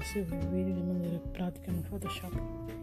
fácil ver o vídeo de maneira prática no Photoshop.